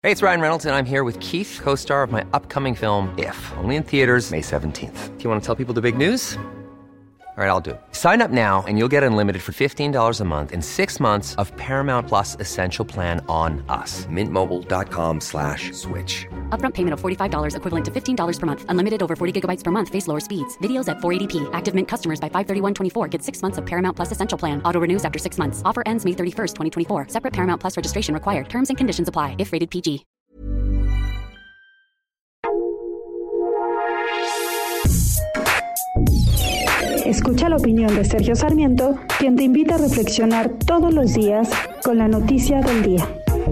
Hey, it's Ryan Reynolds, and I'm here with Keith, co-star of my upcoming film, If, only in theaters May 17th. Do you want to tell people the big news? All right, I'll do it. Sign up now and you'll get unlimited for $15 a month and 6 months of Paramount Plus Essential Plan on us. MintMobile.com/switch. Upfront payment of $45 equivalent to $15 per month. Unlimited over 40 gigabytes per month. Face lower speeds. Videos at 480p. Active Mint customers by 531.24 get 6 months of Paramount Plus Essential Plan. Auto renews after 6 months. Offer ends May 31st, 2024. Separate Paramount Plus registration required. Terms and conditions apply if rated PG. Escucha la opinión de Sergio Sarmiento, quien te invita a reflexionar todos los días con la noticia del día.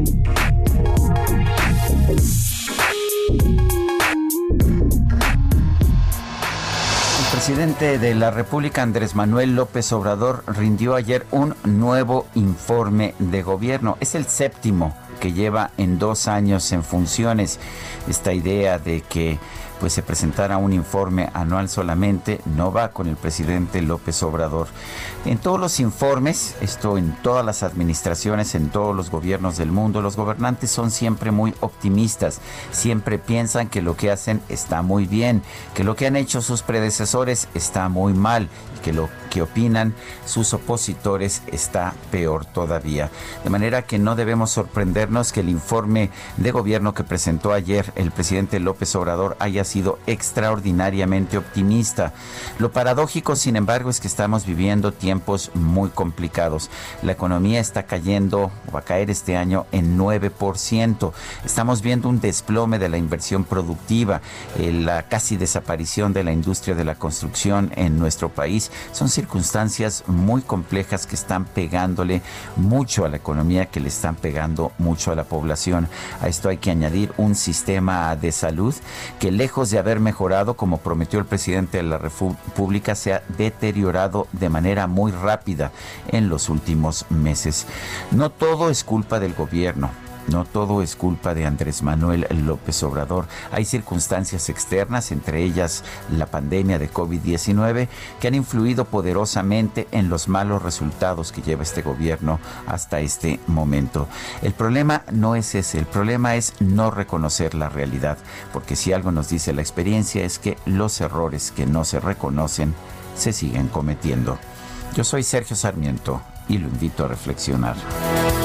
El presidente de la República, Andrés Manuel López Obrador, rindió ayer un nuevo informe de gobierno. Es el séptimo que lleva en 2 años en funciones. Esta idea de que se presentara un informe anual solamente no va con el presidente López Obrador. En todos los informes, esto en todas las administraciones, en todos los gobiernos del mundo, los gobernantes son siempre muy optimistas, siempre piensan que lo que hacen está muy bien, que lo que han hecho sus predecesores está muy mal y que lo que opinan sus opositores está peor todavía. De manera que no debemos sorprendernos que el informe de gobierno que presentó ayer el presidente López Obrador haya sido extraordinariamente optimista. Lo paradójico, sin embargo, es que estamos viviendo tiempos muy complicados. La economía está cayendo, o va a caer este año, en 9%. Estamos viendo un desplome de la inversión productiva, la casi desaparición de la industria de la construcción en nuestro país. Son circunstancias muy complejas que están pegándole mucho a la economía, que le están pegando mucho a la población. A esto hay que añadir un sistema de salud que, lejos de haber mejorado, como prometió el presidente de la República, se ha deteriorado de manera muy rápida en los últimos meses. No todo es culpa del gobierno. No todo es culpa de Andrés Manuel López Obrador. Hay circunstancias externas, entre ellas la pandemia de COVID-19, que han influido poderosamente en los malos resultados que lleva este gobierno hasta este momento. El problema no es ese, el problema es no reconocer la realidad, porque si algo nos dice la experiencia es que los errores que no se reconocen se siguen cometiendo. Yo soy Sergio Sarmiento y lo invito a reflexionar.